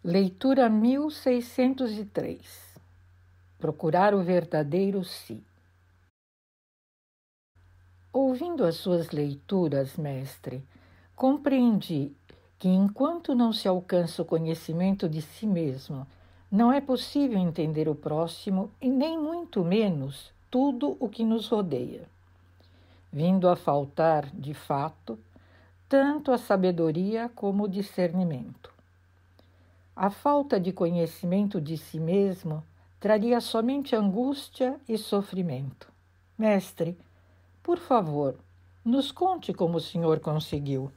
Leitura 1603. Procurar o verdadeiro si. Ouvindo as suas leituras, mestre, compreendi que enquanto não se alcança o conhecimento de si mesmo, não é possível entender o próximo e nem muito menos tudo o que nos rodeia, vindo a faltar, de fato, tanto a sabedoria como o discernimento. A falta de conhecimento de si mesmo traria somente angústia e sofrimento. Mestre, por favor, nos conte como o senhor conseguiu.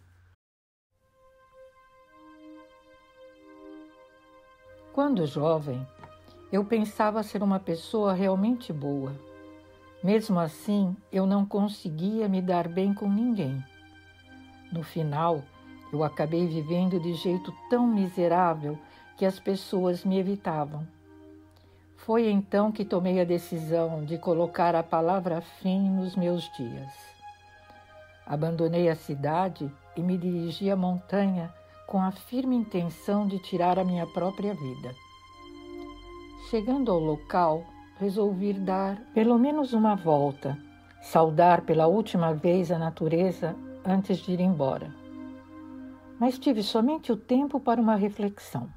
Quando jovem, eu pensava ser uma pessoa realmente boa. Mesmo assim, eu não conseguia me dar bem com ninguém. No final, eu acabei vivendo de jeito tão miserável que as pessoas me evitavam. Foi então que tomei a decisão de colocar a palavra fim nos meus dias. Abandonei a cidade e me dirigi à montanha com a firme intenção de tirar a minha própria vida. Chegando ao local, resolvi dar pelo menos uma volta, saudar pela última vez a natureza antes de ir embora. Mas tive somente o tempo para uma reflexão.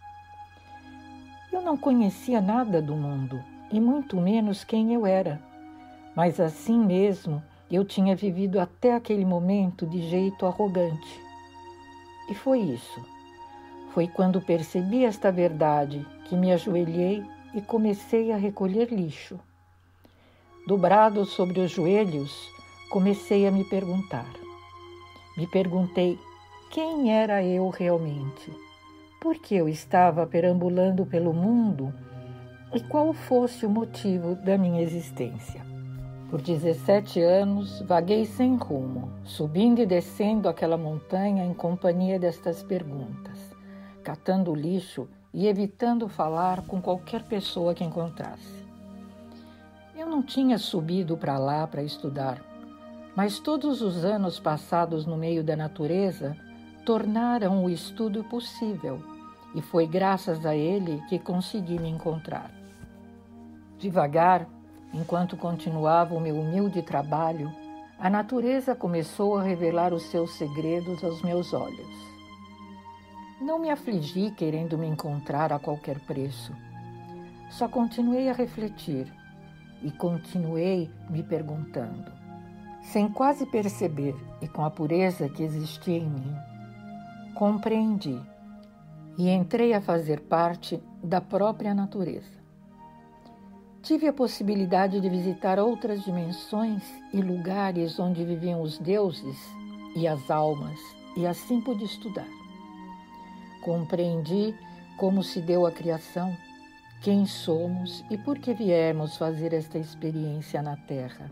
Eu não conhecia nada do mundo, e muito menos quem eu era. Mas assim mesmo, eu tinha vivido até aquele momento de jeito arrogante. E foi isso. Foi quando percebi esta verdade que me ajoelhei e comecei a recolher lixo. Dobrado sobre os joelhos, comecei a me perguntar. Me perguntei quem era eu realmente. Por que eu estava perambulando pelo mundo e qual fosse o motivo da minha existência. Por 17 anos, vaguei sem rumo, subindo e descendo aquela montanha em companhia destas perguntas, catando lixo e evitando falar com qualquer pessoa que encontrasse. Eu não tinha subido para lá para estudar, mas todos os anos passados no meio da natureza tornaram o estudo possível. E foi graças a ele que consegui me encontrar. Devagar, enquanto continuava o meu humilde trabalho, a natureza começou a revelar os seus segredos aos meus olhos. Não me afligi querendo me encontrar a qualquer preço. Só continuei a refletir e continuei me perguntando, sem quase perceber e com a pureza que existia em mim. Compreendi e entrei a fazer parte da própria natureza. Tive a possibilidade de visitar outras dimensões e lugares onde viviam os deuses e as almas, e assim pude estudar. Compreendi como se deu a criação, quem somos e por que viemos fazer esta experiência na Terra.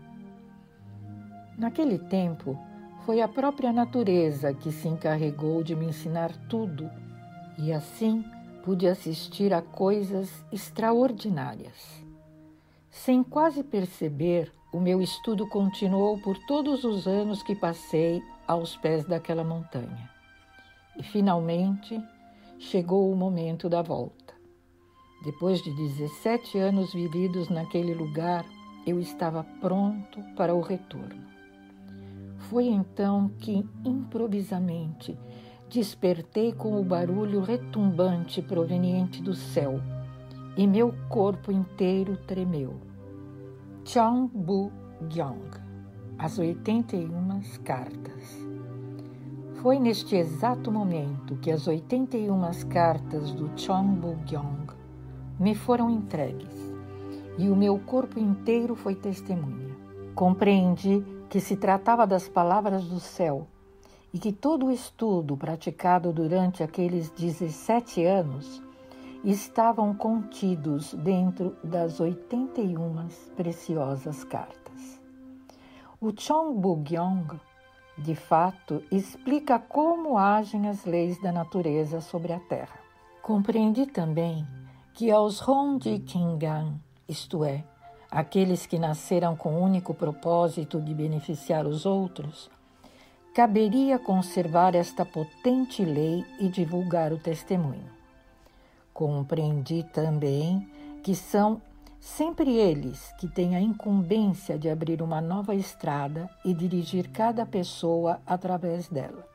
Naquele tempo, foi a própria natureza que se encarregou de me ensinar tudo, e assim pude assistir a coisas extraordinárias. Sem quase perceber, o meu estudo continuou por todos os anos que passei aos pés daquela montanha. E finalmente chegou o momento da volta. Depois de 17 anos vividos naquele lugar, eu estava pronto para o retorno. Foi então que, improvisamente, despertei com o barulho retumbante proveniente do céu e meu corpo inteiro tremeu. Chang-bu-gyong, as 81 cartas. Foi neste exato momento que as 81 cartas do Chang-bu-gyong me foram entregues e o meu corpo inteiro foi testemunha. Compreendi que se tratava das palavras do céu e que todo o estudo praticado durante aqueles 17 anos estavam contidos dentro das 81 preciosas cartas. O Chang-bu-gyong, de fato, explica como agem as leis da natureza sobre a Terra. Compreendi também que aos Hongji-Kingan, isto é, aqueles que nasceram com o único propósito de beneficiar os outros, caberia conservar esta potente lei e divulgar o testemunho. Compreendi também que são sempre eles que têm a incumbência de abrir uma nova estrada e dirigir cada pessoa através dela.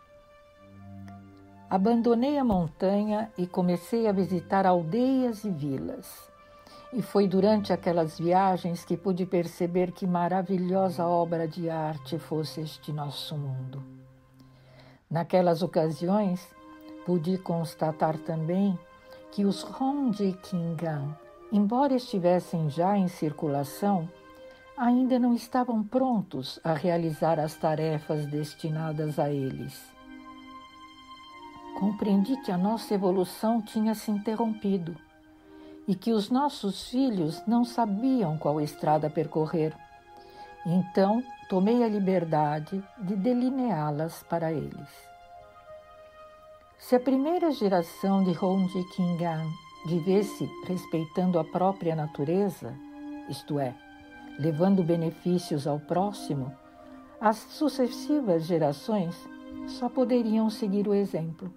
Abandonei a montanha e comecei a visitar aldeias e vilas. E foi durante aquelas viagens que pude perceber que maravilhosa obra de arte fosse este nosso mundo. Naquelas ocasiões, pude constatar também que os Rondikingan, embora estivessem já em circulação, ainda não estavam prontos a realizar as tarefas destinadas a eles. Compreendi que a nossa evolução tinha se interrompido e que os nossos filhos não sabiam qual estrada percorrer. Então, tomei a liberdade de delineá-las para eles. Se a primeira geração de Rondikingan vivesse respeitando a própria natureza, isto é, levando benefícios ao próximo, as sucessivas gerações só poderiam seguir o exemplo.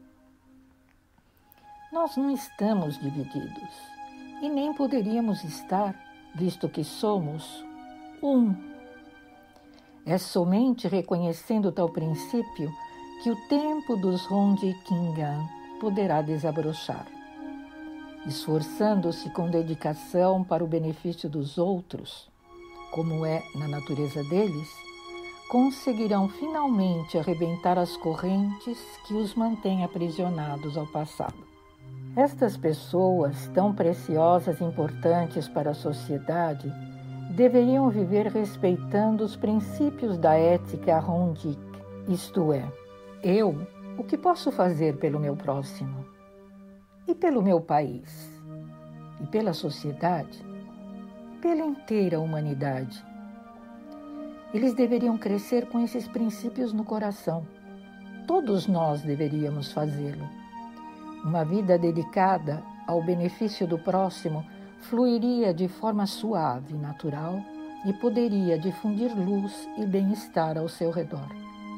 Nós não estamos divididos e nem poderíamos estar, visto que somos um. É somente reconhecendo tal princípio que o tempo dos Rondikingan poderá desabrochar. Esforçando-se com dedicação para o benefício dos outros, como é na natureza deles, conseguirão finalmente arrebentar as correntes que os mantêm aprisionados ao passado. Estas pessoas, tão preciosas e importantes para a sociedade, deveriam viver respeitando os princípios da ética Rondik, isto é, o que posso fazer pelo meu próximo? E pelo meu país? E pela sociedade? Pela inteira humanidade? Eles deveriam crescer com esses princípios no coração. Todos nós deveríamos fazê-lo. Uma vida dedicada ao benefício do próximo fluiria de forma suave, natural e poderia difundir luz e bem-estar ao seu redor.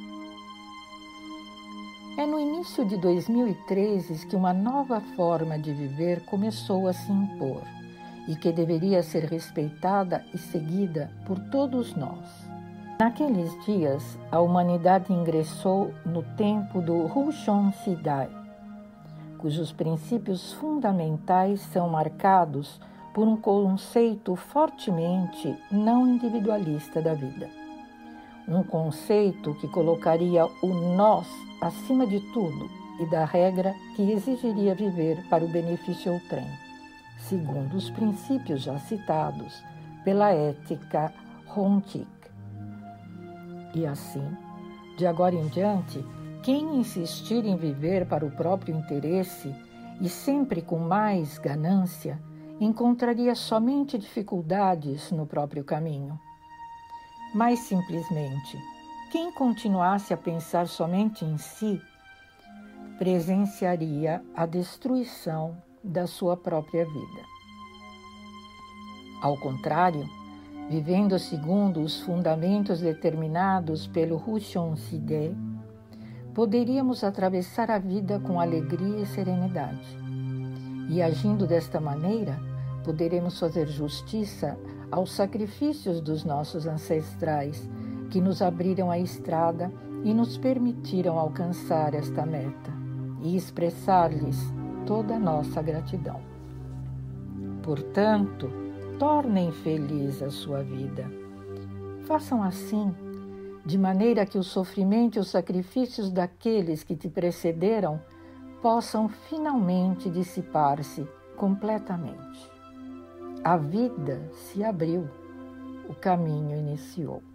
É no início de 2013 que uma nova forma de viver começou a se impor e que deveria ser respeitada e seguida por todos nós. Naqueles dias, a humanidade ingressou no tempo do Rushon Sidai, cujos princípios fundamentais são marcados por um conceito fortemente não individualista da vida. Um conceito que colocaria o nós acima de tudo e da regra que exigiria viver para o benefício outrem, segundo os princípios já citados pela ética Rondik. E assim, de agora em diante, quem insistir em viver para o próprio interesse e sempre com mais ganância, encontraria somente dificuldades no próprio caminho. Mais simplesmente, quem continuasse a pensar somente em si, presenciaria a destruição da sua própria vida. Ao contrário, vivendo segundo os fundamentos determinados pelo Rushon Sidai, poderíamos atravessar a vida com alegria e serenidade. E agindo desta maneira, poderemos fazer justiça aos sacrifícios dos nossos ancestrais, que nos abriram a estrada e nos permitiram alcançar esta meta, e expressar-lhes toda a nossa gratidão. Portanto, tornem feliz a sua vida. Façam assim, de maneira que o sofrimento e os sacrifícios daqueles que te precederam possam finalmente dissipar-se completamente. A vida se abriu, o caminho iniciou.